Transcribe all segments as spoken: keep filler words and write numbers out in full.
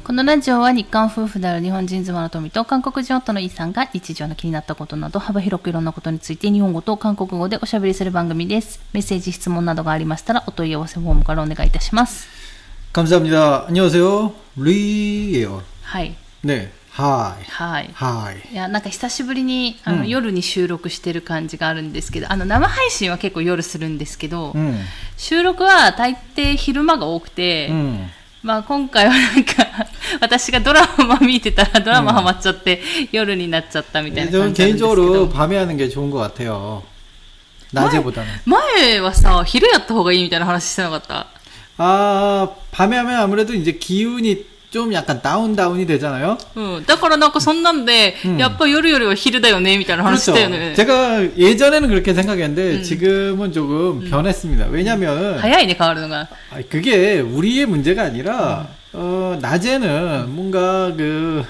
このラジオは日韓夫婦である日本人妻の富と韓国人夫のイさんが日常の気になったことなど幅広くいろんなことについて日本語と韓国語でおしゃべりする番組です。メッセージ質問などがありましたらお問い合わせフォームからお願いいたします。 감사합니다。안녕하세요。리예요。 はい。 ね、はい。 はい。 はい。 いや、なんか久しぶりにあの、うん、夜に収録してる感じがあるんですけど、あの生配信は結構夜するんですけど、うん、収録は大抵昼間が多くて、うん、まあ今回はなんか私がドラマ見てたらドラマハマっちゃって、うん、夜になっちゃったみたいな感じなんですけど。 개인적으로밤에하는게좋은것같아요나제보다는마에밤에아무래도이제기운이좀약간다운다운이되잖아요 응, だからなんかそんなんで、うん、やっぱ夜よりは昼だよねみたいな話したよね。 제가 예전에는 그렇게 생각했는데 음. 지금은 조금 음. 변했습니다. 왜냐면 早いね変わるのが. 그게 우리의 문제가 아니라 음. 어, 낮에는 뭔가 그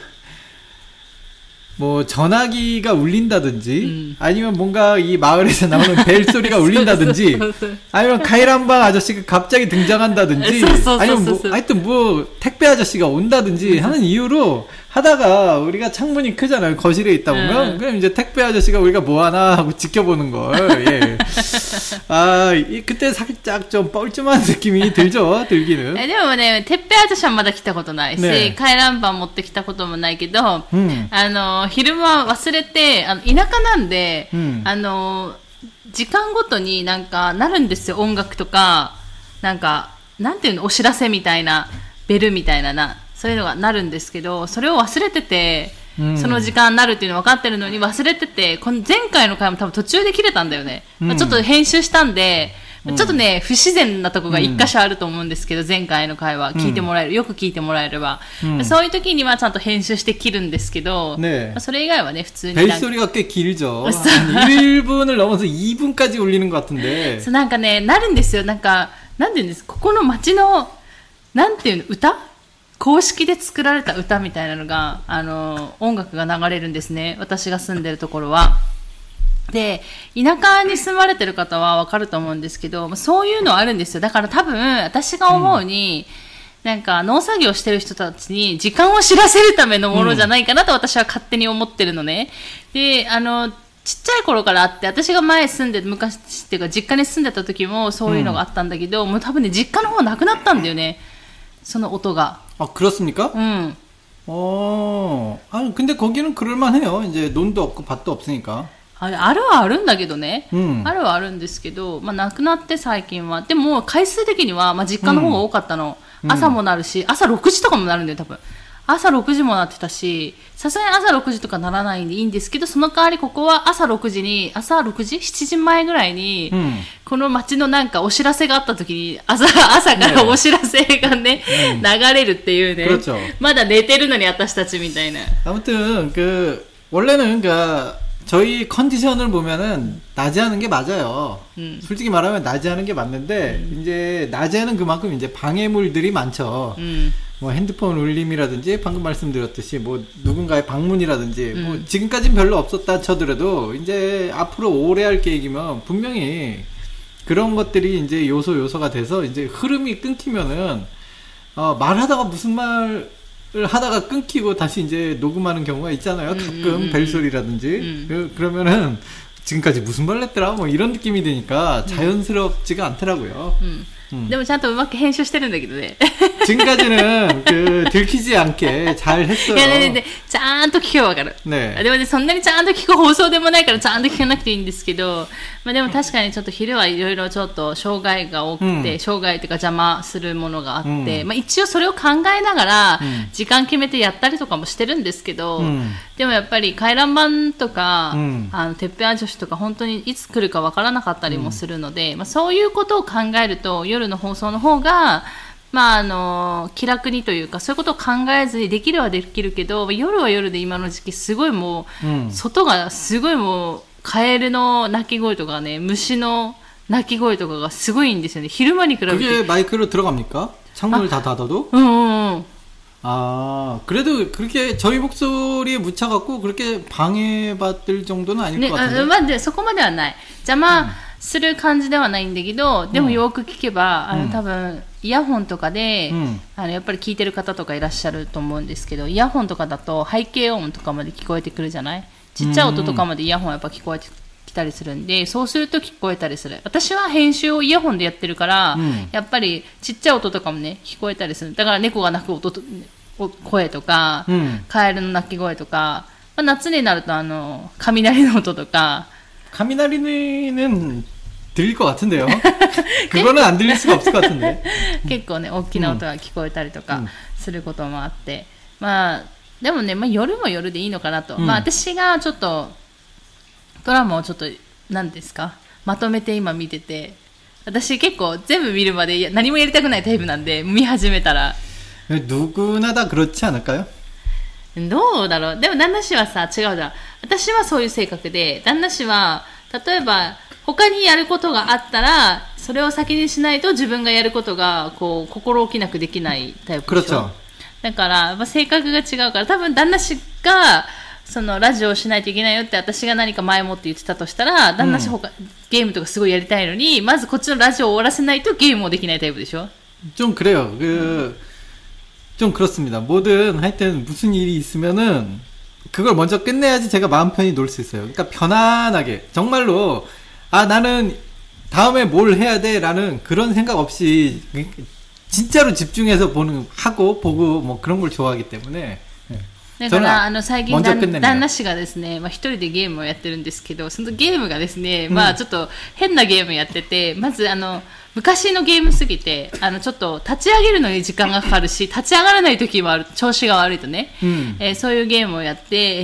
뭐 전화기가 울린다든지 음. 아니면 뭔가 이 마을에서 나오는 벨 소리가 울린다든지 아니면 카이란방 아저씨가 갑자기 등장한다든지 아니면 뭐 하여튼 뭐 택배 아저씨가 온다든지 하는 이유로 하다가 우리가 창문이 크잖아요. 거실에 있다 보면 음. 그럼 이제 택배 아저씨가 우리가 뭐 하나 하고 지켜보는 걸. 예. 아, 이, 그때 살짝 좀 뻘쭘한 느낌이 들죠. 들기는. でもね、택배 아저씨はまだ来たことないし、ね、回覧板持ってきたこともないけど、うん、あの昼間忘れて、あの田舎なんで、うん、あの時間ごとになんかなるんですよ。音楽とかなんかなんていうのお知らせみたいなベルみたいなな。そういうのがなるんですけど、それを忘れてて、うん、その時間になるっていうの分かってるのに忘れてて、この前回の回も多分途中で切れたんだよね。うんまあ、ちょっと編集したんで、うん、ちょっとね、不自然なとこが一箇所あると思うんですけど、うん、前回の回は聞いてもらえる、よく聞いてもらえれば、うん、そういう時にはちゃんと編集して切るんですけど、ねまあ、それ以外はね、普通に。 벨소리가꽤길죠。일 분을 넘어서 이 분까지 울리는 것 같은데。 そうなんかね、なるんですよ。なんか、なんていうんです、ここの街の、なんていうの、歌公式で作られた歌みたいなのが、あの、音楽が流れるんですね。私が住んでるところは。で、田舎に住まれてる方はわかると思うんですけど、そういうのあるんですよ。だから多分、私が思うに、うん、なんか農作業してる人たちに時間を知らせるためのものじゃないかなと私は勝手に思ってるのね。で、あの、ちっちゃい頃からあって、私が前住んで、昔っていうか実家に住んでた時もそういうのがあったんだけど、うん、もう多分ね、実家の方なくなったんだよね。その音が. 아, 그렇습니까? 응. 어, 아니, 근데 거기는 그럴만해요. 이제 논도 없고 밭도 없으니까. あるはあるんだけどね。うん、あるはあるんですけど、まあ、なくなって最近は。でも、回数的には、まあ、実家の方が多かったの。うん、朝もなるし、朝ろくじとかもなるんだよ、多分。朝ろくじもなってたし、さすがに朝ろくじとかならないんでいいんですけど、その代わりここは朝ろくじに、朝ろくじ ?しちじまえぐらいに、うん、この街のなんかお知らせがあった時に、朝、朝からお知らせがね、ね流れるっていうね。まだ寝てるのに私たちみたいな。 아무튼 그 원래는 그 저희 컨디션을 보면은 낮에 하는 게 맞아요. 음. 솔직히 말하면 낮에 하는 게 맞는데 음. 이제 낮에는 그만큼 이제 방해물들이 많죠. 음. 뭐 핸드폰 울림이라든지 방금 말씀드렸듯이 뭐 누군가의 방문이라든지 음. 뭐 지금까지는 별로 없었다 쳐더라도 이제 앞으로 오래 할 계획이면 분명히 그런 것들이 이제 요소 요소가 돼서 이제 흐름이 끊기면은 어 말하다가 무슨 말 을 하다가 끊기고 다시 이제 녹음하는 경우가 있잖아요. 음, 가끔 음, 벨소리라든지 음. 그, 그러면은 지금까지 무슨 말 했더라 뭐 이런 느낌이 드니까 자연스럽지가 않더라고요. 음. 음. でもちゃんとうまく編集してるんだけどね. 지금까지는 그 들키지 않게 잘 했어요. いやねねちゃんと聞けばわかる. 네. でもねそんなにちゃんと聞く放送でもないからちゃんと聞かなくていいんですけど、まあでも確かにちょっと昼はいろいろちょっと障害が多くて、うん、障害というか邪魔するものがあって、うん、まあ一応それを考えながら時間決めてやったりとかもしてるんですけど、うん、でもやっぱり回覧板とか、うん、あのてっぺんあ女子とか本当にいつ来るかわからなかったりもするので、うんまあそういうことを考えると夜の放送の方がまああの気楽にというかそういうことを考えずにできるはできるけど夜は夜で今の時期すごいもう、うん、外がすごいもうカエルの鳴き声とかね虫の鳴き声とかがすごいんですよね昼間に比べて 그게 마이크로 들어갑니까? 창문을 다 닫아도? 응, 응. 아, 그래도 그렇게 저희 목소리에 묻혀갖고 그렇게 방해받을 정도는 아닐 네, 것 같은데. 아, まあ、そこまではない。邪魔する感じではないんだけど、でもよく聞けば、うん、あの多分イヤホンとかで、うん、あのやっぱり聞いてる方とかいらっしゃると思うんですけど、イヤホンとかだと背景音とかまで聞こえてくるじゃない。ちっちゃい音とかまでイヤホンやっぱ聞こえてきたりするんで、そうすると聞こえたりする。私は編集をイヤホンでやってるから、うん、やっぱりちっちゃい音とかもね聞こえたりする。だから猫が鳴く音と声とか、うん、カエルの鳴き声とか、まあ、夏になるとあの雷の音とか。 雷는 들릴 것 같은데요. 그거는 안 들릴 수가 없을 것 같은데. 結構ね大きな音が聞こえたりとかすることもあって、うん、まあでもね、まあ、夜も夜でいいのかなと、うん、まあ私がちょっとドラマをちょっと何ですかまとめて今見てて、私結構全部見るまで何もやりたくないタイプなんで、見始めたら。 누구나 다 그렇지 않을까요? どうだろう。でも旦那氏はさ違うじゃん。私はそういう性格で、旦那氏は例えば他にやることがあったらそれを先にしないと自分がやることがこう心置きなくできないタイプでしょ。だからまあ性格が違うから、多分旦那氏がそのラジオをしないといけないよって私が何か前もって言ってたとしたら、旦那氏他、うん、ゲームとかすごいやりたいのにまずこっちのラジオを終わらせないとゲームもできないタイプでしょ。 좀 그래요. 그 좀 그렇습니다. 뭐든 하여튼 무슨 일이 있으면은 그걸 먼저 끝내야지 제가 마음 편히 놀 수 있어요. 그러니까 편안하게 정말로 아 나는 다음에 뭘 해야 돼라는 그런 생각 없이 진짜로 집중해서 보는 하고 보고 뭐 그런 걸 좋아하기 때문에. だからあの最近旦那氏がですね、まあ、一人でゲームをやってるんですけど、そのゲームがですね、まあちょっと変なゲームやってて、まずあの昔のゲームすぎて、あのちょっと立ち上げるのに時間がかかるし、立ち上がらない時もある、調子が悪いとね、うん、えー、そういうゲームをやって、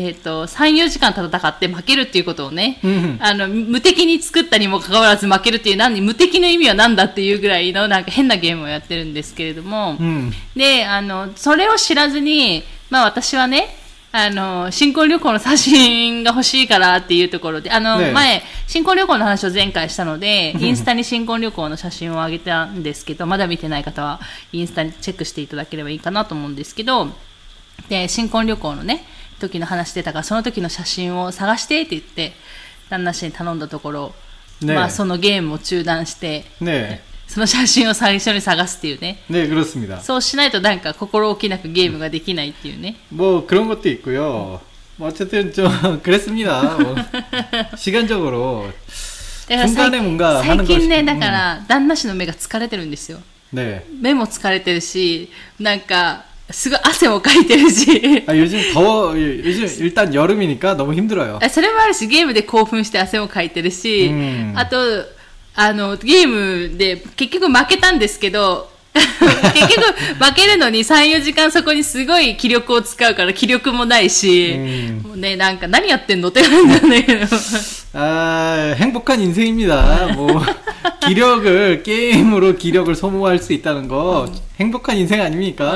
えっとさん、よじかん戦って負けるっていうことをね、うん、あの無敵に作ったにもかかわらず負けるっていう、何無敵の意味は何だっていうぐらいのなんか変なゲームをやってるんですけれども、うん、であのそれを知らずに、まあ私はね、あの新婚旅行の写真が欲しいからっていうところで、あの、ね、前新婚旅行の話を前回したのでインスタに新婚旅行の写真を上げたんですけど、まだ見てない方はインスタにチェックしていただければいいかなと思うんですけど、で新婚旅行のね時の話してたから、その時の写真を探してって言って旦那氏に頼んだところ、ね、まあそのゲームを中断して、ね、その写真を最初に探すっていうね。 ね、그렇습니다. そうしないとなんか心置きなくゲームができないっていうね。 뭐 그런 것도 있고요. 뭐 어쨌든 좀 그랬습니다. 뭐 시간적으로 중간에 뭔가 하는 것이. 最近ね、だから旦那氏の目が疲れてるんですよ。ね。目も疲れてるし、なんかすごい汗もかいてるし。 あ、요즘 더워. 요즘 일단 여름이니까 너무 힘들어요. それもあるし、ゲームで興奮して汗もかいてるし、うん、あとあのゲームで結局負けたんですけど結局負けるのにさん、よじかんそこにすごい気力を使うから気力もないし、もうね、なんか何やってんのって感じなんだけどあ、행복한 인생입니다. 뭐 기력을 게임으로 기력을 소모할 수 있다는 거 행복한 인생 아닙니까?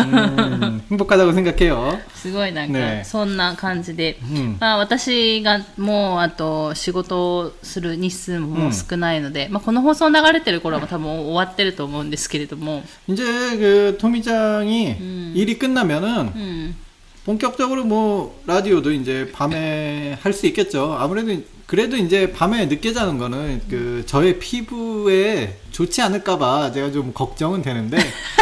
음, 행복하다고 생각해요. すごいなんかそんな感じで、ね、まあ私がもうあと仕事をする日数ももう少ないので、うん、まあこの放送流れてる頃も多分終わってると思うんですけれども、 이제 그 토미짱이 음. 일이 끝나면은 음. 본격적으로 뭐 라디오도 이제 밤에 할 수 있겠죠. 아무래도 그래도 이제 밤에 늦게 자는 거는 그 저의 피부에 좋지 않을까봐 제가 좀 걱정은 되는데,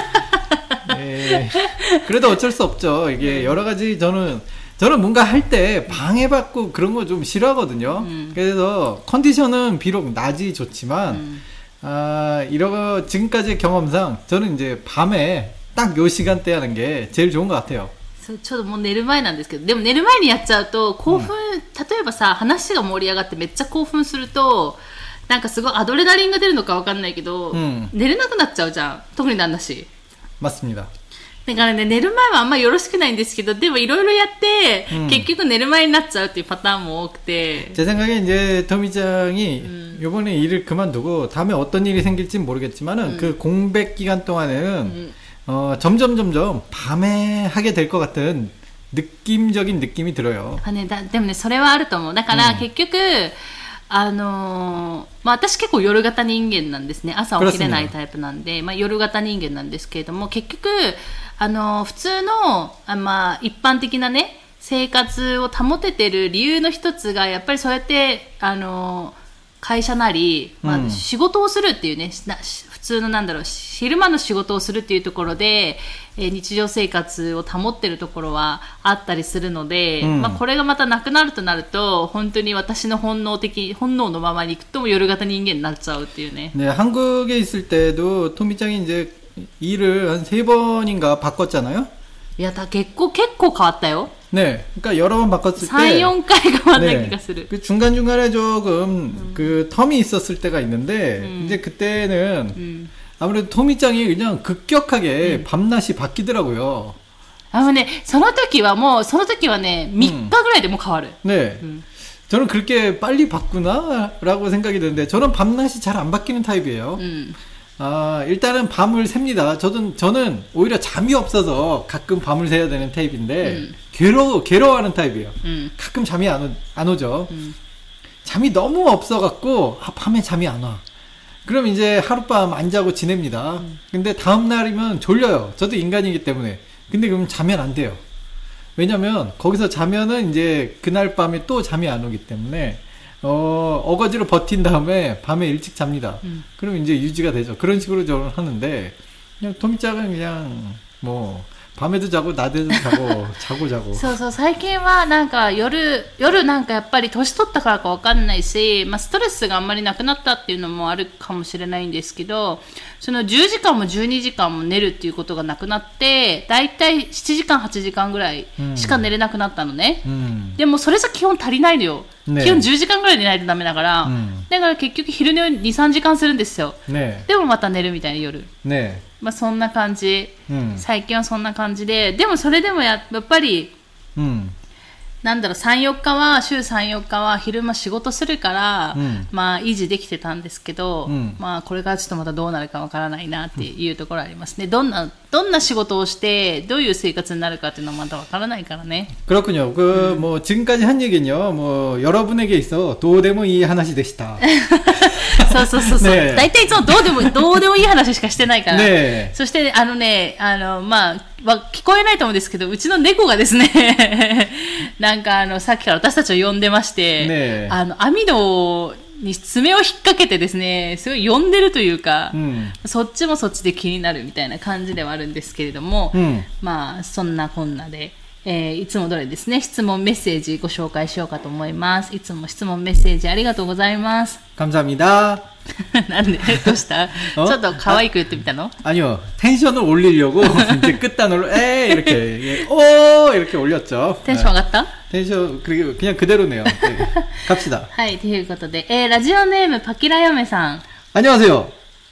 네, 그래도 어쩔 수 없죠. 이게 여러 가지 저는 저는 뭔가 할 때 방해받고 그런 거 좀 싫어하거든요. 음. 그래서 컨디션은 비록 낮이 좋지만, 음. 아, 이러 지금까지의 경험상 저는 이제 밤에 딱 요 시간대 하는 게 제일 좋은 것 같아요. そうちょっともう寝る前なんですけど、でも寝る前にやっちゃうと興奮、うん、例えばさ話が盛り上がってめっちゃ興奮するとなんかすごいアドレナリンが出るのかわかんないけど、うん、寝れなくなっちゃうじゃん、特に旦那氏。 맞습니다。 だからね、寝る前はあんまよろしくないんですけど、でもいろいろやって、うん、結局寝る前になっちゃうっていうパターンも多くて。 제 생각에 이제 토미짱이 음. 이번에 일을 그만두고 다음에 어떤 일이 생길지는 모르겠지만은 음. 그 공백 기간 동안에는 음. 어, 점점 점점 밤에 하게 될 것 같은 느낌적인 느낌이 들어요. あ、ね、だでもねそれはあると思う。だから、うん、結局あのーまあ、私結構夜型人間なんですね。朝起きれないタイプなんで、まあ、夜型人間なんですけれども、結局あのー、普通のあ、まあ、一般的なね生活を保ててる理由の一つがやっぱりそうやってあのー会社なり、まあ、仕事をするっていうね、うん、普通のなんだろう、昼間の仕事をするっていうところで、えー、日常生活を保ってるところはあったりするので、うん、まあ、これがまたなくなるとなると本当に私の本能的本能のままにいくと夜型人間になっちゃうっていうね。 ね、한국에 있을 때도 토미짱이 이제 일을 한 세 번인가 바꿨잖아요. いや、だ結構結構変わったよ。 네, 그러니까 여러 번 바꿨을 때 삼, 사回変わった気がする。 그 중간 중간에 조금 음. 그 텀이 있었을 때가 있는데 음. 이제 그때는 음. 아무래도 토미짱이 그냥 급격하게 음. 밤낮이 바뀌더라고요. あのね、その時はもうその時はね、みっかぐらいでも変わる。 네. 음. 저는 그렇게 빨리 바꾸나라고 생각이 드는데 저는 밤낮이 잘 안 바뀌는 타입이에요. 음. 아, 일단은 밤을 셉니다. 저는, 저는 오히려 잠이 없어서 가끔 밤을 새야 되는 타입인데, 음. 괴로워, 괴로워하는 타입이에요. 음. 가끔 잠이 안, 오, 안 오죠. 음. 잠이 너무 없어갖고, 아, 밤에 잠이 안 와. 그럼 이제 하룻밤 안 자고 지냅니다. 음. 근데 다음날이면 졸려요. 저도 인간이기 때문에. 근데 그럼 자면 안 돼요. 왜냐면, 거기서 자면은 이제 그날 밤에 또 잠이 안 오기 때문에, 어, 어거지로 버틴 다음에 밤에 일찍 잡니다. 음. 그럼 이제 유지가 되죠. 그런 식으로 저는 하는데, 그냥 토미짱은 그냥, 뭐, 밤에도 자고, 낮에도 자고, 자고 자고. そうそう、最近はなんか夜、夜なんかやっぱり年取ったからかわかんないし、まあストレスがあんまりなくなったっていうのもあるかもしれないんですけど、そのじゅうじかんもじゅうにじかんも寝るっていうことがなくなって、だいたいしちじかんはちじかんぐらいしか寝れなくなったのね。うん、でもそれじゃ基本足りないのよ。ね、基本じゅうじかんぐらい寝ないとダメだから、うん、だから結局昼寝をに、さんじかんするんですよ。ね、でもまた寝るみたいな夜。ね、まあそんな感じ、うん。最近はそんな感じで、でもそれでも や, やっぱり、うん、なんだろう、さん、よっかは、週さん、よっかは昼間仕事するから、うん、まあ維持できてたんですけど、うん、まあこれからちょっとまたどうなるかわからないなっていうところありますね。どんな、どんな仕事をして、どういう生活になるかっていうのはまだわからないからね。 그렇군요. 그, 뭐, 지금까지 한 얘기는요, 뭐, 여러분에게 있어, どうでもいい話でした。 そうそうそうそう。ね、大体いつもどうでも、どうでもいい話しかしてないから。ね、そして、あのね、あの、まあ、聞こえないと思うんですけど、うちの猫がですね、なんかあの、さっきから私たちを呼んでまして、ね、あの、網戸に爪を引っ掛けてですね、すごい呼んでるというか、うん、そっちもそっちで気になるみたいな感じではあるんですけれども、うん、まあ、そんなこんなで、えー、いつも通りですね、質問メッセージご紹介しようかと思います。いつも質問メッセージありがとうございます。 감사합니다。 なんでどうしたちょっと可愛く言ってみたの? 아니요. 텐션을 올리려고 이제 끝단으로 에 이렇게 오 이렇게 올렸죠. 텐션 올랐다? 텐션 그리고 그냥 그대로네요. 네. 갑시다. はい、ということで、えー、ラジオネームパキラヨメさん。 안녕하세요.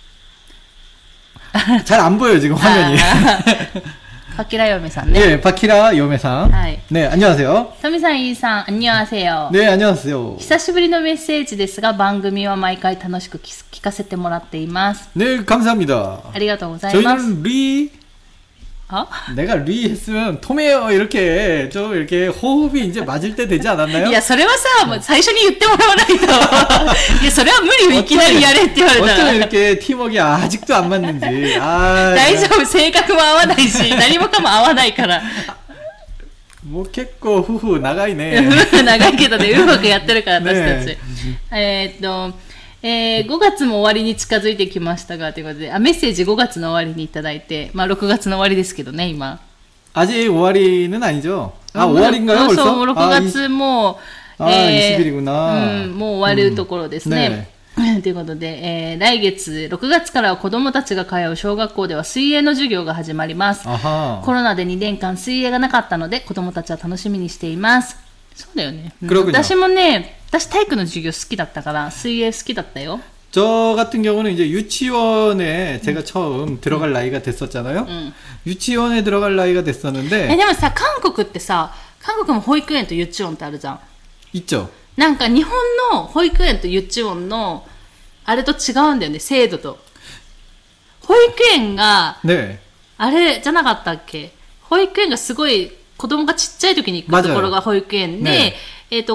잘 안 보여요, 지금 화면이. 파키라 요메さんね. 네, 파키라 요메さん. 네, 안녕하세요. 토미さん, 이さん, 안녕하세요. 네, 안녕하세요. 久しぶりのメッセージですが番組は毎回楽しく聞かせてもらっています. 네, 감사합니다. ありがとうございます. 저희는 리 어? 내가 리 했으면 토메요 이렇게 좀 이렇게 호흡이 이제 맞을 때 되지 않았나요? いやそれはさもう最初に言ってもらわないといやそれは無理よいきなりやれって言われたら 어쩌면 이렇게 팀워크가 아직도 안 맞는지 아, 大丈夫性格も合わないし何もかも合わないからもう結構夫婦長いね長いけどねうまくやってるから私たち、ね、えー、っとえー、ごがつも終わりに近づいてきましたがということであメッセージごがつの終わりにいただいてまあろくがつの終わりですけどね今 아직 오월이는 아니죠? 아 오월인가요 벌써? そうろくがつも 아, 예, 이십 일이구나 うん、もう終わるところですね、うん、ねということで、えー、来月ろくがつからは子どもたちが通う小学校では水泳の授業が始まりますコロナでにねんかん水泳がなかったので子どもたちは楽しみにしていますそうだよね、うん、私もね私体育の授業好きだったから水泳好きだったよ 저 같은 경우는 이제 유치원에 제가 음. 처음 들어갈 음. 나이가 됐었잖아요. 음. 유치원에 들어갈 나이가 됐었는데. でもさ、韓国ってさ、韓国も保育園と幼稚園ってあるじゃん。 있죠. なんか日本の保育園と幼稚園のあれと違うんだよね、制度と。保育園が、ね、あれじゃなかったっけ？保育園がすごい子供がちっちゃい時に行くところが保育園で、ね、えっとこ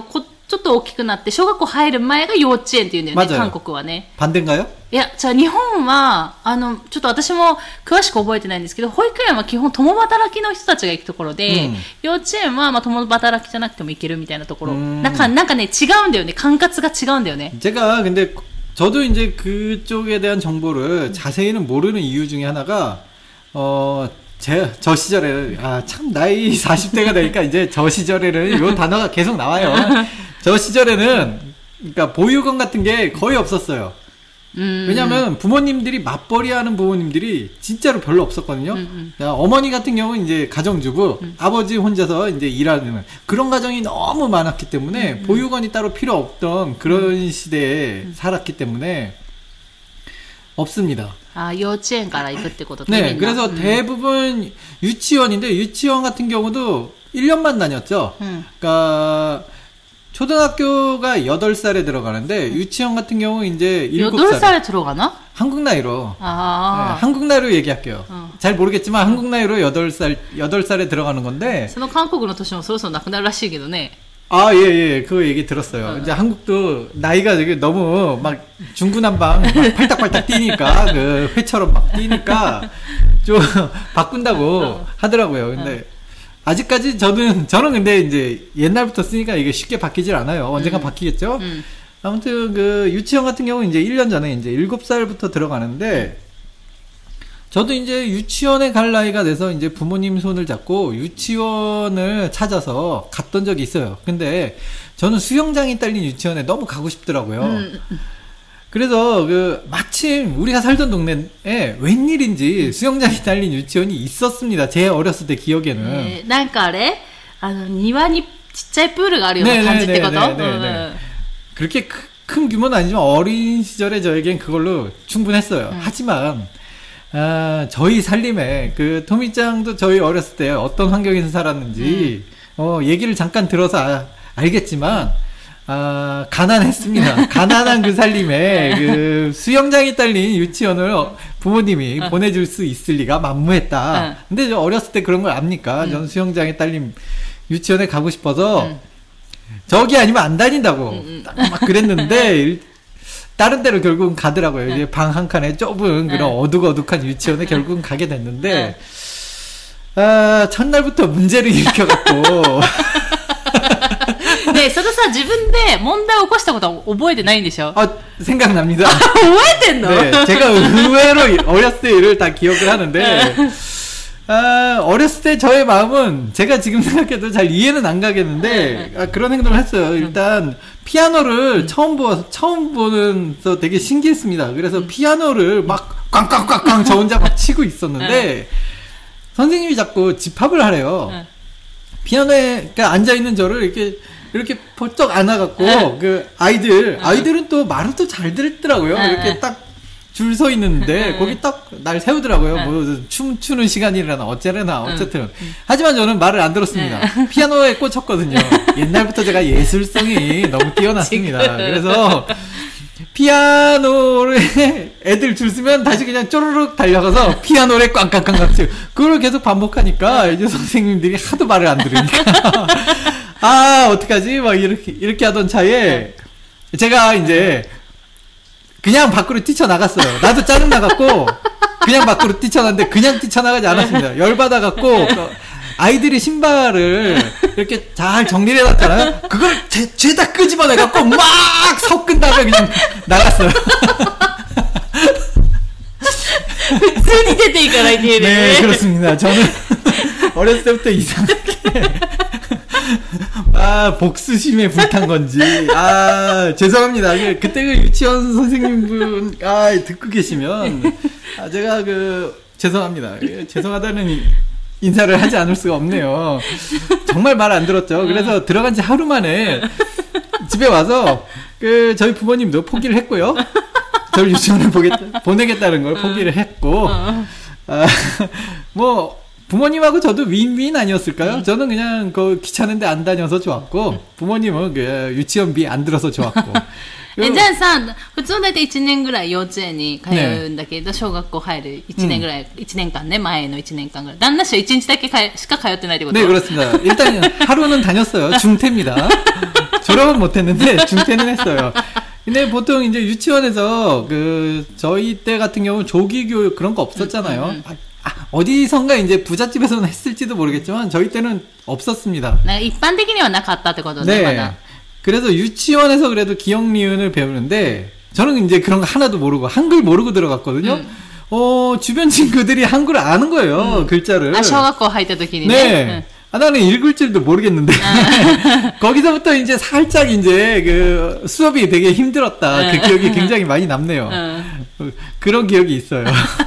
ちょっと大きくなって小学校入る前が幼稚園っていうんだよね、韓国はね。 반대인가요？ いや、じゃあ日本は、あの、ちょっと私も詳しく覚えてないんですけど、保育園は基本共働きの人たちが行くところで、うん、幼稚園はまあ共働きじゃなくても行けるみたいなところ。なんか、なんかね、違うんだよね。管轄が違うんだよね。 제가 근데 저도 이제 그쪽에 대한 정보를 자세히는 모르는 이유 중에 하나가, 어, 제, 저 시절에, 아, 참, 나이 사십 대가 되니까 이제 저 시절에는 요 단어가 계속 나와요. 저 시절에는, 그러니까 보육원 같은 게 거의 없었어요. 음. 왜냐면 부모님들이 맞벌이 하는 부모님들이 진짜로 별로 없었거든요. 음, 음. 어머니 같은 경우는 이제 가정주부, 음. 아버지 혼자서 이제 일하는 그런 가정이 너무 많았기 때문에 음, 음. 보육원이 따로 필요 없던 그런 음. 시대에 음. 살았기 때문에 없습니다. 아,幼稚園から行くってこと? 네, 그래서 음. 대부분 유치원인데 유치원 같은 경우도 일 년만 다녔죠. 음. 그러니까 초등학교가 여덟 살에 들어가는데 유치원 같은 경우 이제 일곱 살. 여덟 살에 들어가나? 한국 나이로. 아. 네, 한국 나이로 얘기할게요. 어. 잘 모르겠지만 한국 나이로 여덟 살, 여덟 살에 들어가는 건데. その韓国の年もそろそろなくなるらしいけどね. 아, 예, 예. 그 얘기 들었어요. 어. 이제 한국도 나이가 되게 너무 막 중구난방 막 팔딱팔딱 뛰니까, 그 회처럼 막 뛰니까 좀 바꾼다고 어. 하더라고요. 근데 어. 아직까지 저는, 저는 근데 이제 옛날부터 쓰니까 이게 쉽게 바뀌질 않아요. 언젠가 음. 바뀌겠죠? 음. 아무튼 그 유치원 같은 경우는 이제 일 년 전에 이제 일곱 살부터 들어가는데, 저도 이제 유치원에 갈 나이가 돼서 이제 부모님 손을 잡고 유치원을 찾아서 갔던 적이 있어요. 근데 저는 수영장이 딸린 유치원에 너무 가고 싶더라고요. 음. 그래서 그 마침 우리가 살던 동네에 웬일인지 수영장이 딸린 유치원이 있었습니다. 제 어렸을 때 기억에는. 네, 뭔가あれ? 아, 庭にちっちゃいプールがあるような感じってこと? 네네네. 그렇게 크, 큰 규모는 아니지만 어린 시절에 저에겐 그걸로 충분했어요. 음. 하지만 아, 저희 살림에 그 토미짱도 저희 어렸을 때 어떤 환경에서 살았는지 음. 어, 얘기를 잠깐 들어서 아, 알겠지만 아, 가난했습니다. 가난한 그 살림에 그 수영장이 딸린 유치원을 부모님이 어. 보내줄 수 있을 리가 만무했다. 어. 근데 저 어렸을 때 그런 걸 압니까? 음. 전 수영장에 딸린 유치원에 가고 싶어서 음. 저기 아니면 안 다닌다고 음, 음. 막 그랬는데 다른 데로 결국은 가더라고요. 이제 방 한 칸에 좁은 그런 어둑어둑한 유치원에 결국은 가게 됐는데 아, 첫날부터 문제를 일으켜갖고 ねえ、それさ、自分で問題を起こしたことは覚えてないんでしょ? 아, 생각납니다. 覚えてんの? 네, 제가 의외로 어렸을 때 일을 다 기억을 하는데 아, 어렸을 때 저의 마음은 제가 지금 생각해도 잘 이해는 안 가겠는데 아, 그런 행동을 했어요. 일단 피아노를 음. 처음 보 처음 보는서 되게 신기했습니다. 그래서 음. 피아노를 막 꽝꽝꽝꽝 저 혼자 막 치고 있었는데 선생님이 자꾸 집합을 하래요. 피아노에 앉아 있는 저를 이렇게 이렇게 벌떡 안아갖고 그 아이들 아이들은 또 말을 또 잘 듣더라고요. 이렇게 딱 줄 서 있는데 거기 딱 날 세우더라고요. 뭐 춤추는 시간이라나 어째라나 어쨌든. 하지만 저는 말을 안 들었습니다. 피아노에 꽂혔거든요. 옛날부터 제가 예술성이 너무 뛰어났습니다. 그래서 피아노를 애들 줄 쓰면 다시 그냥 쪼르륵 달려가서 피아노를 꽝꽝꽝꽝 치고 그걸 계속 반복하니까 이제 선생님들이 하도 말을 안 들으니까 아 어떡하지 막 이렇게 이렇게 하던 차에 제가 이제 그냥 밖으로 뛰쳐나갔어요. 나도 짜증나갖고 그냥 밖으로 뛰쳐나갔는데 그냥 뛰쳐나가지 않았습니다. 열받아갖고 아이들이 신발을 이렇게 잘 정리를 해놨잖아요. 그걸 죄, 죄다 끄집어내갖고 막 섞은 다음에 그냥 나갔어요. 普通に出ていかないといけないね。 네, 그렇습니다. 저는 어렸을 때부터 이상하게 아, 복수심에 불탄 건지. 아, 죄송합니다. 그때 그 유치원 선생님분, 아, 듣고 계시면, 아, 제가 그, 죄송합니다. 죄송하다는 인사를 하지 않을 수가 없네요. 정말 말 안 들었죠. 그래서 들어간 지 하루 만에 집에 와서, 그, 저희 부모님도 포기를 했고요. 저를 유치원을 보겠다, 보내겠다는 걸 포기를 했고, 아, 뭐, 부모님하고 저도 윈윈 아니었을까요? 음. 저는 그냥 그 귀찮은데 안 다녀서 좋았고 음. 부모님은 그 유치원비 안 들어서 좋았고. え、じゃあさ、普通だいたいいちねんぐらい幼稚園に通うんだけど、ね、小学校入るいちねんぐらい、うん、いちねんかんね、前のいちねんかんぐらい。旦那氏はいちにちだけしか通ってないってこと? 네, 그렇습니다. 일단 하루는 다녔어요. 중퇴입니다. 졸업은 못했는데 중퇴는 했어요. 근데 보통 이제 유치원에서 그 저희 때 같은 경우는 조기 교육 그런 거 없었잖아요. 음, 음, 음. 아, 어디선가 이제 부잣집에서는 했을지도 모르겠지만 저희 때는 없었습니다. 일반적으로는なかったってことね. 네. 그래서 유치원에서 그래도 기역 니은을 배우는데 저는 이제 그런 거 하나도 모르고 한글 모르고 들어갔거든요. 음. 어, 주변 친구들이 한글을 아는 거예요. 음. 글자를. 아, 초등학교 할 때도 기니 네. 네. 아, 나는 읽을 줄도 모르겠는데. 아. 거기서부터 이제 살짝 이제 그 수업이 되게 힘들었다. 아. 그 기억이 굉장히 많이 남네요. 아. 그런 기억이 있어요.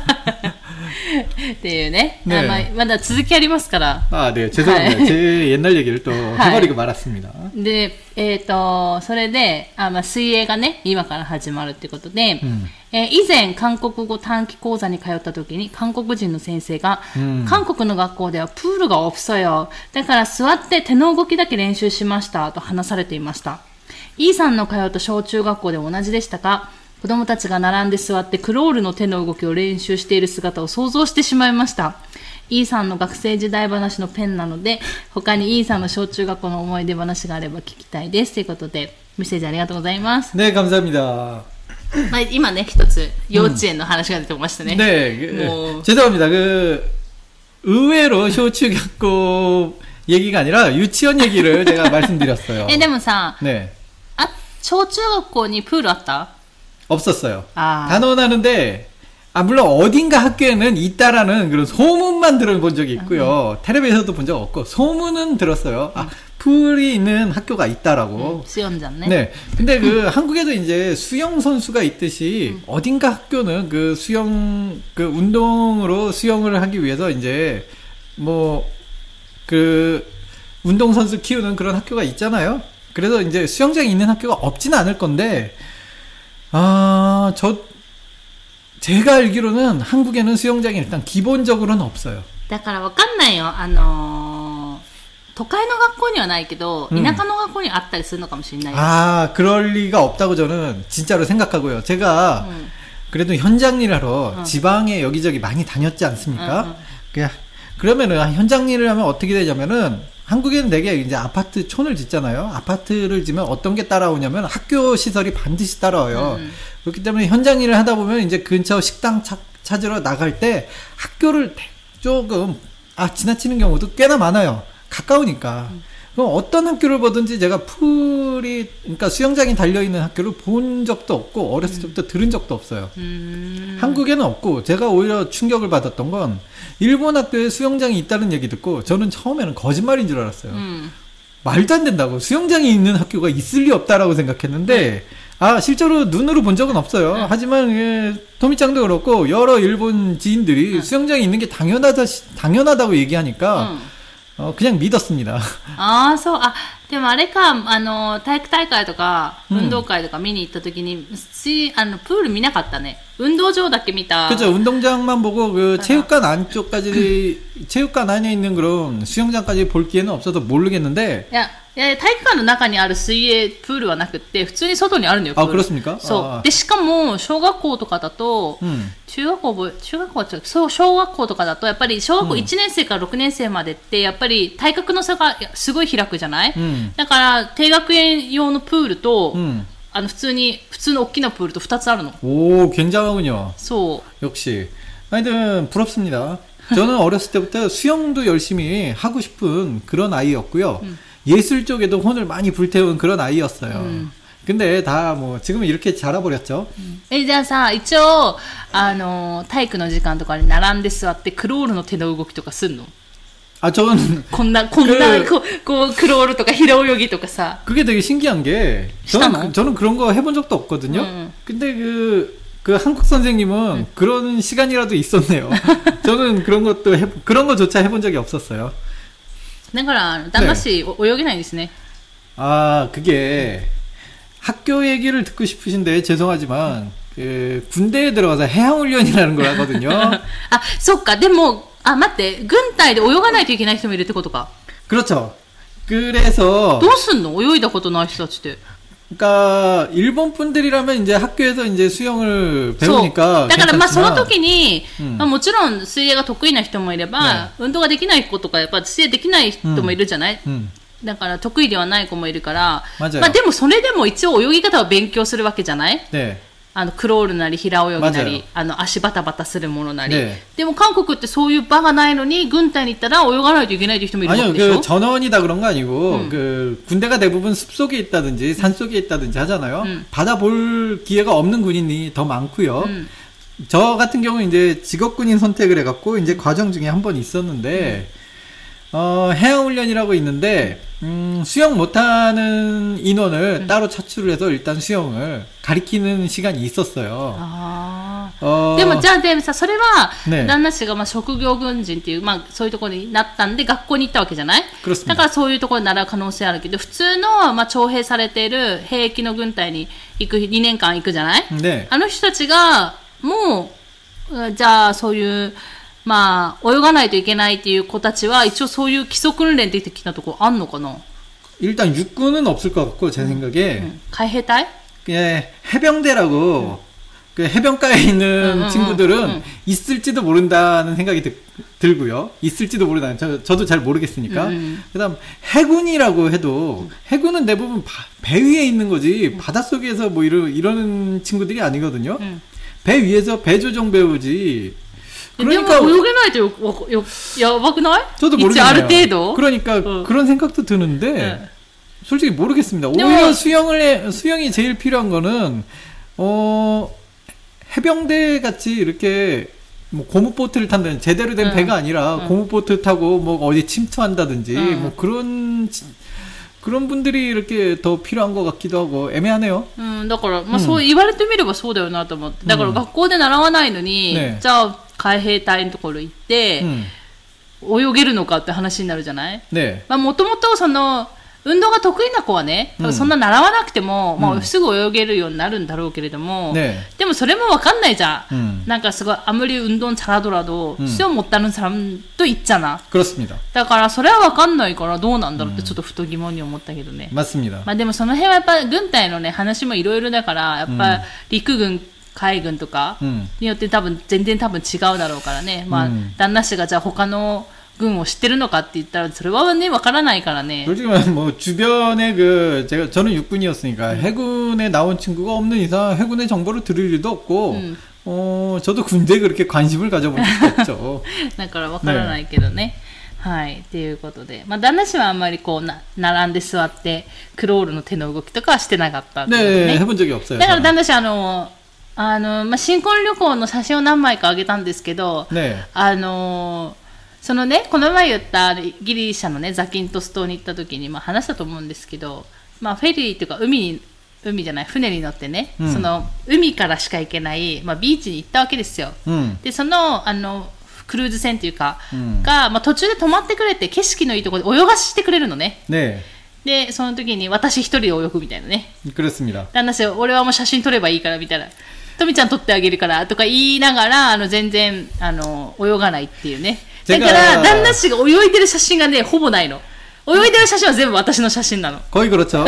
っていうね。 네. まあ、まだ続きありますから。 아, 네. 죄송합니다. 제 옛날 얘기를 또 해버리고 말았습니다. で、えっと、それで、あ、まあ、水泳がね、今から始まるってことで、うん、えー、以前、韓国語短期講座に通った時に、韓国人の先生が、うん、韓国の学校ではプールが없어요。だから座って手の動きだけ練習しました、と話されていました。イーさんの通った小中学校で同じでしたか？子供たちが並んで座ってクロールの手の動きを練習している姿を想像してしまいました。イーさんの学生時代話のペンなので、他にイーさんの小中学校の思い出話があれば聞きたいです。ということで、メッセージありがとうございます。 ね、감사합니다。 まあ、今ね、一つ幼稚園の話が出てましたね。 ね、もう죄송합니다。그 의외로小中学校얘기가 아니라 유치원 얘기를 제가 말씀드렸어요。 え、でもさ、ね、あ、小中学校にプールあった？ 없었어요. 아. 단언하는데, 아, 물론 어딘가 학교에는 있다라는 그런 소문만 들어본 적이 있고요. 음. 텔레비에서도 본 적 없고, 소문은 들었어요. 아, 풀이 있는 학교가 있다라고. 음, 수영장네. 네. 근데 그 한국에도 이제 수영 선수가 있듯이 음. 어딘가 학교는 그 수영, 그 운동으로 수영을 하기 위해서 이제 뭐, 그 운동선수 키우는 그런 학교가 있잖아요. 그래서 이제 수영장이 있는 학교가 없지는 않을 건데, 아, 저, 제가 알기로는 한국에는 수영장이 일단 기본적으로는 없어요. だからわかんないよ。あのー、都会の学校にはないけど、田舎の学校にあったりするのかもしれないです。 아, 그럴 리가 없다고 저는 진짜로 생각하고요. 제가 음. 그래도 현장 일 하러 음. 지방에 여기저기 많이 다녔지 않습니까? 음, 음. 그냥, 그러면은 현장 일을 하면 어떻게 되냐면은 한국에는 되게 이제 아파트 촌을 짓잖아요. 아파트를 지면 어떤 게 따라오냐면 학교 시설이 반드시 따라와요. 음. 그렇기 때문에 현장 일을 하다 보면 이제 근처 식당 차, 찾으러 나갈 때 학교를 조금 아 지나치는 경우도 꽤나 많아요. 가까우니까. 음. 그럼 어떤 학교를 보든지 제가 풀이 그러니까 수영장이 달려있는 학교를 본 적도 없고 어렸을 때부터 음. 들은 적도 없어요. 음. 한국에는 없고 제가 오히려 충격을 받았던 건 일본 학교에 수영장이 있다는 얘기 듣고 저는 처음에는 거짓말인 줄 알았어요. 음. 말도 안 된다고 수영장이 있는 학교가 있을 리 없다라고 생각했는데 네. 아 실제로 눈으로 본 적은 없어요. 네. 하지만 예, 토미짱도 그렇고 여러 일본 지인들이 네. 수영장이 있는 게 당연하다 당연하다고 얘기하니까 음. 어, 그냥 믿었습니다. 아, そう。あ、でもあれか、あの、体育大会とか、運動会とか見に行った時に、し、あの、プール見なかったね。運動場だけ見た。 그죠. 운동장만 보고, 그, 체육관 안쪽까지, 체육관 안에 있는 그런 수영장까지 볼 기회는 없어서 모르겠는데. 야, いや体育館の中にある水泳プールはなくって普通に外にあるのよ。 あ、그렇습니까? そう。でしかも小学校とかだと、うん、中学校中学校は違う。そう小学校とかだとやっぱり小学校いちねん生からろくねん生までってやっぱり体格の差がすごい開くじゃない？うん、だから低学年用のプールと、うん、あの普通に普通の大きなプールとふたつあるの。 오、굉장하군요。 そう。 역시。하여튼 부럽습니다. 저는 어렸을 때부터 수영도 열심히 하고 싶은 그런 아이였고요. 음. 예술 쪽에도 혼을 많이 불태운 그런 아이였어요. 음. 근데 다 뭐 지금은 이렇게 자라버렸죠. 음. え、じゃあさ、一応あの体育の時間とかに並んで座ってクロールの手の動きとかすんの? 아, 저는 こんなこんなこうこうクロールとか平泳ぎとかさ. 그게 되게 신기한 게 저는 저는 그런 거 해본 적도 없거든요. 음. 근데 그 그 한국 선생님은 음. 그런 시간이라도 있었네요. 저는 그런 것도 해, 그런 거조차 해본 적이 없었어요. だから旦那氏泳げないんですね. 아, 그게 학교 얘기를 듣고 싶으신데 죄송하지만 그 군대에 들어가서 해양훈련이라는 걸 하거든요. 아, そっか。でもあ、待って。軍隊で泳がないといけない人もいるってことか. 그렇죠. 그래서 どうすんの？泳いだことない人たちって. 그러니까 일본 분들이라면 이제 학교에서 이제 수영을 배우니까. だからまあその時に、うんまあ、もちろん水泳が得意な人もいれば、運動ができない子とかやっぱ水泳できない人もいるじゃない。うんうん、 だから得意ではない子もいるから、まあでもそれでも一応泳ぎ方を勉強するわけじゃない？ね、あのクロールなり平泳ぎなり、あの足バタバタするものなり、ね、でも韓国ってそういう場がないのに軍隊に行ったら泳がないといけないという人もいるわけでしょ？ 아니요, 그 전원이다 그런 거 아니고 음. 그 군대가 대부분 숲속에 있다든지 산속에 있다든지 하잖아요. 음. 바다 볼 기회가 없는 군인이 더 많고요. 음. 저 같은 경우는 이제 직업군인 선택을 해갖고 이제 과정 중에 한 번 있었는데. 음. 어, 해양훈련이라고 있는데, 음, 수영 못하는 인원을 음. 따로 차출을 해서 일단 수영을 가리키는 시간이 있었어요. 아. 어. でも、じゃあ、でもさ、それは、旦那氏が、まあ、職業軍人っていう、まあ、そういうところになったんで、学校に行ったわけじゃない？だからそういうところに習う可能性あるけど、普通の、まあ、徴兵されている兵役の軍隊に行く、にねんかん行くじゃない？ね。あの人たちが、もう、じゃあ、そういう、まあ、泳がないといけないっていう子たちは一応そういう基礎訓練的なところあんのかな? 일단 육군은 없을 것 같고 제 생각에 응.海兵隊? 예, 해병대라고 응. 그 해변가에 있는 응, 친구들은 응, 응. 있을지도 모른다는 생각이 드, 들고요. 있을지도 모른다. 저, 저도 잘 모르겠으니까. 응. 그다음 해군이라고 해도 응. 해군은 대부분 바, 배 위에 있는 거지 응. 바닷속에서 뭐 이러, 이러는 친구들이 아니거든요. 응. 배 위에서 배 조종 배우지. 그러니까泳げないとやばくない? 저도 모르겠네요. ある程度? 그러니까 어. 그런 생각도 드는데 네. 솔직히 모르겠습니다. 오히려 수영을 해, 수영이 제일 필요한 거는 어 해병대 같이 이렇게 뭐 고무보트를 탄다는 제대로 된 응. 배가 아니라 응. 고무보트 타고 뭐 어디 침투한다든지 응. 뭐 그런 그런 분들이 이렇게 더 필요한 것 같기도 하고 애매하네요. 음, だから、まあ、そう言われてみればそうだよなと思って。だから学校で習わないのに、じゃあ海兵隊のところ行って、泳げるのかって話になるじゃない？ね。まあ、もともとその、運動が得意な子はね、多分そんな習わなくても、うん、まあ、すぐ泳げるようになるんだろうけれども、ね、でもそれもわかんないじゃん。うん、なんかすごい아무리 운동 잘하더라도 수영 못하는 사람도 있잖아. 그렇습니다. だからそれはわかんないからどうなんだろうってちょっとふと疑問に思ったけどね。 맞습니다. まあでもその辺はやっぱ軍隊のね話もいろいろだからやっぱ陸軍海軍とかによって多分全然多分違うだろうからね。まあ旦那氏がじゃあ他の軍を知ってるのかって言ったらそれはねわからないからね. 솔직히 뭐 주변에 그 제가 저는 육군이었으니까 음. 해군에 나온 친구가 없는 이상 해군의 정보를 들을 일도 없고 음. 어 저도 군대에 그렇게 관심을 가져본 적도 없죠. だからわからないけどね. はい、ということで、まあ旦那氏はあんまりこうな並んで座ってクロールの手の動きとかはしてなかったってことね. 네, 해본 적이 없어요. だから旦那氏あのあのまあ新婚旅行の写真を何枚かあげたんですけど、ね、あのそのね、この前言ったギリシャのね、ザキントス島に行った時に、まあ話したと思うんですけど、まあフェリーというか海に、海じゃない、船に乗ってね、うん、その海からしか行けない、まあビーチに行ったわけですよ。うん、で、その、あの、クルーズ船というか、うん、が、まあ途中で止まってくれて、景色のいいところで泳がしてくれるのね。ねで、その時に私一人で泳ぐみたいなね。 그렇습니다。 旦那氏、俺はもう写真撮ればいいからみたいな。トミちゃん撮ってあげるからとか言いながら、あの全然、あの、泳がないっていうね。だから旦那氏が泳いでる写真がねほぼないの。泳いでる写真は全部私の写真なの。 거의 그렇죠.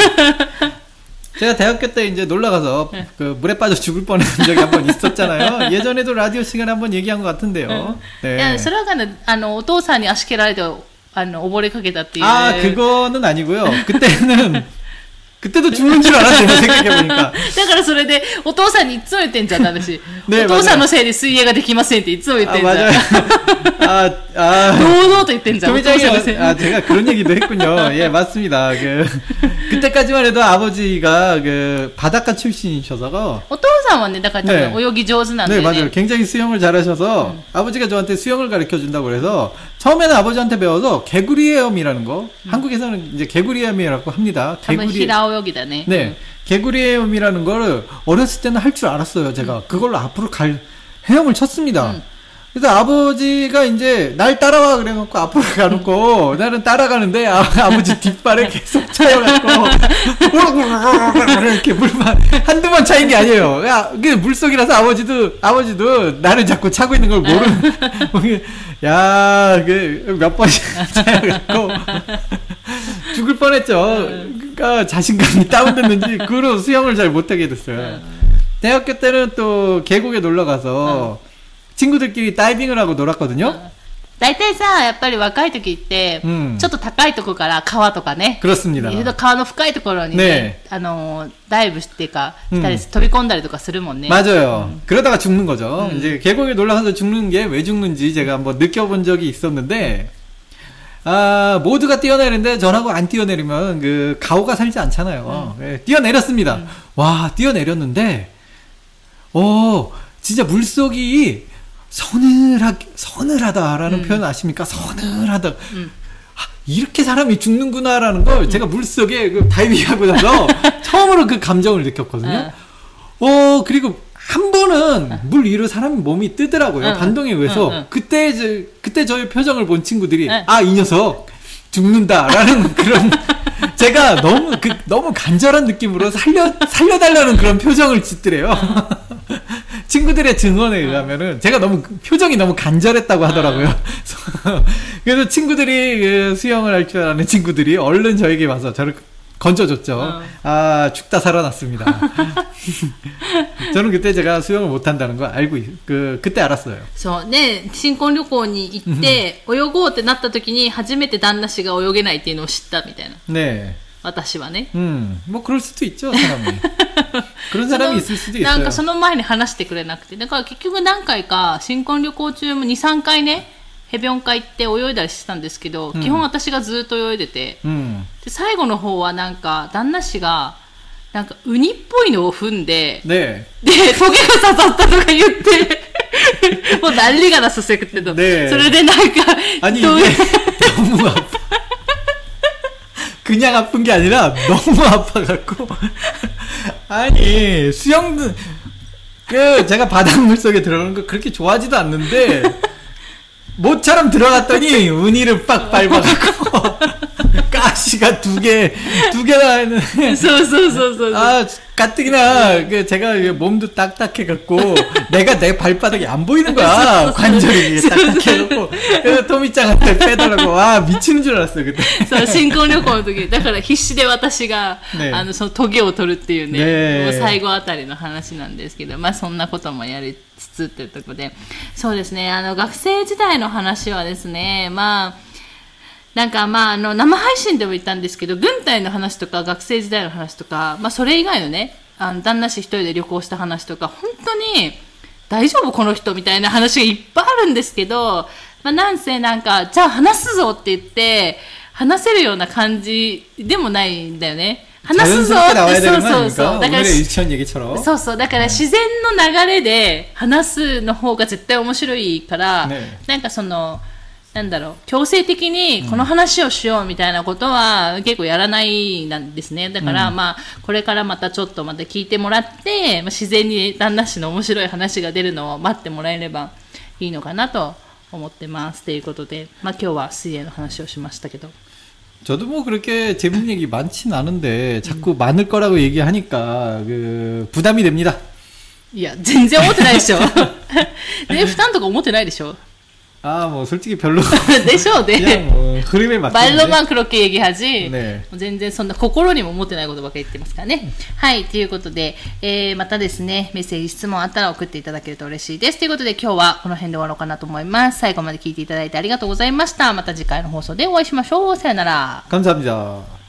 제가 대학교 때 이제 놀러 가서 그 물에 빠져 죽을 뻔한 적이 한번 있었잖아요. 예전에도 라디오 시간에 한번 얘기한 것 같은데요. 네. いやそれはねあのお父さんに足蹴られてあの溺れかけたっていう。 아 그거는 아니고요. 그때는 그때도 죽는 줄 알았어요. 생각해보니까. だからそれでお父さんにいつも言ってんじゃん私。ね、お父さんのせいで水泳ができませんっていつも言ってんじゃん。 아, 아, 堂々と言ってんじゃん。 아, 제가 그런 얘기도 했군요. 예, 맞습니다. 그 그때까지만 해도 아버지가 그 바닷가 출신이셔서. お父さんはね、だから多分泳ぎ上手なんでね。 네, 맞아요. 굉장히 수영을 잘하셔서 음. 아버지가 저한테 수영을 가르쳐 준다고 그래서 처음에는 아버지한테 배워서 개구리 헤엄이라는 거. 음. 한국에서는 이제 개구리 헤엄이라고 합니다. 개구리 헤엄이다네. 네. 음. 개구리 헤엄이라는 거를 어렸을 때는 할 줄 알았어요. 제가 음. 그걸로 앞으로 갈 헤엄을 쳤습니다. 음. 그래서 아버지가 이제 날 따라와 그래갖고 앞으로 가놓고 나는 따라가는데 아, 아버지 뒷발에 계속 차여갖고 이렇게 물만 한두 번 차인 게 아니에요. 야, 이게 물속이라서 아버지도 아버지도 나를 자꾸 차고 있는 걸 모르는. 야, 그 몇 번씩 차여갖고 죽을 뻔했죠. 그러니까 자신감이 다운됐는지 그로 수영을 잘 못하게 됐어요. 대학교 때는 또 계곡에 놀러 가서 친구들끼리 다이빙을 하고 놀았거든요. 大体さ、やっぱり若い時って、うん、ちょっと高いところから川とかね。 그렇습니다。 川の深いところにね、ねあの、ダイブっていうか、したり、飛び込んだりとかするもんね。 맞아요。うん、그러다가 죽는 거죠。うん、이제 계곡에 올라가서 죽는 게 왜 죽는지 제가 한번 느껴본 적이 있었는데, 아, 모두가 뛰어내리는데 전하고 안 뛰어내리면 그 가오가 살지 않잖아요. 음. 네, 뛰어내렸습니다. 음. 와, 뛰어내렸는데, 어, 진짜 물속이 서늘하, 서늘하다라는 음. 표현 아십니까? 서늘하다. 음. 아, 이렇게 사람이 죽는구나라는 걸 음. 제가 물속에 그 다이빙하고 나서 처음으로 그 감정을 느꼈거든요. 어, 어 그리고 한 번은 물 위로 사람 몸이 뜨더라고요. 응, 반동에 의해서. 응, 응. 그때 저, 그때 저의 표정을 본 친구들이 응. 아, 이 녀석 죽는다라는 그런 제가 너무 그 너무 간절한 느낌으로 살려 살려달라는 그런 표정을 짓더래요. 응. 친구들의 증언에 의하면은 제가 너무 표정이 너무 간절했다고 하더라고요. 그래서 친구들이 그 수영을 할 줄 아는 친구들이 얼른 저에게 와서 저를 건져줬죠. 어. 아, 죽다 살아났습니다. 저는 그때 제가 수영을 못한다는 거 알고, 그, 그때 알았어요. そうね、新婚旅行に行って、泳ごうってなった時に初めて旦那氏が泳げないっていうのを知ったみたいな。 ね。 私はね。 음, 뭐 그럴 수도 있죠, 사람이. 그런 사람이 있을 수도 있어요. なんかその前に話してくれなくて。だから結局何回か新婚旅行中もに、さんかいね、ヘビョン会行って泳いだりしてたんですけど、うん、基本私がずっと泳いでて、うん、で最後の方はなんか旦那氏がなんかウニっぽいのを踏んで、 ね、 でトゲが刺さったとか言ってもう난리가 났었어요 그때도. 네. それでなんか 아니 이게 너무 아파. 그냥 아픈 게 아니라 너무 아파갖고 아니 수영도 그 제가 바닷물 속에 들어가는 거 그렇게 좋아하지도 않는데. 모처럼 들어갔더니 운이를 빡 밟아갖고 가시가 두 개, 두 개나 있는. 아, 가뜩이나 그 제가 몸도 딱딱해갖고 내가 내 발바닥이 안 보이는 거야. 관절이 딱딱해갖고. 그래서 토미짱한테 빼달라고. 와, 미치는 줄 알았어요 그때. そう新婚旅行の時だから必死で私が、ね、あのそのトゲを取るっていうね、ねもう最後あたりの話なんですけど、まあそんなこともやりつつっていうところで、そうですね、あの学生時代の話はですね、まあなんかまああの生配信でも言ったんですけど、軍隊の話とか学生時代の話とか、まあそれ以外のね、あの旦那氏一人で旅行した話とか、本当に大丈夫この人みたいな話がいっぱいあるんですけど、まあなんせなんかじゃあ話すぞって言って話せるような感じでもないんだよね。話すぞって、そうそうそう。だから、そうそう。だから自然の流れで話すの方が絶対面白いから、ね、なんかその、なんだろう、強制的にこの話をしようみたいなことは結構やらないなんですね。だから、うん、まあ、これからまたちょっとまた聞いてもらって、まあ、自然に旦那氏の面白い話が出るのを待ってもらえればいいのかなと思ってます。ということで、まあ今日は水泳の話をしましたけど。 저도 뭐 그렇게 재밌는 얘기 많진 않은데 자꾸 음. 많을 거라고 얘기하니까 그 부담이 됩니다. いや全然思ってないでしょ。ね、負担とか思ってないでしょ。 아, 뭐 솔직히 별로. でしょうね。 그냥 뭐 흐름에 맡기는데. 말로만 그렇게 얘기하지. 네. 全然そんな心にも思ってないことばっかり言ってますからね。はい、ということで、えー、またですね、メッセージ質問あったら送っていただけると嬉しいです。ということで今日はこの辺で終わろうかなと思います。最後まで聞いていただいてありがとうございました。また次回の放送でお会いしましょう。さよなら。 감사합니다.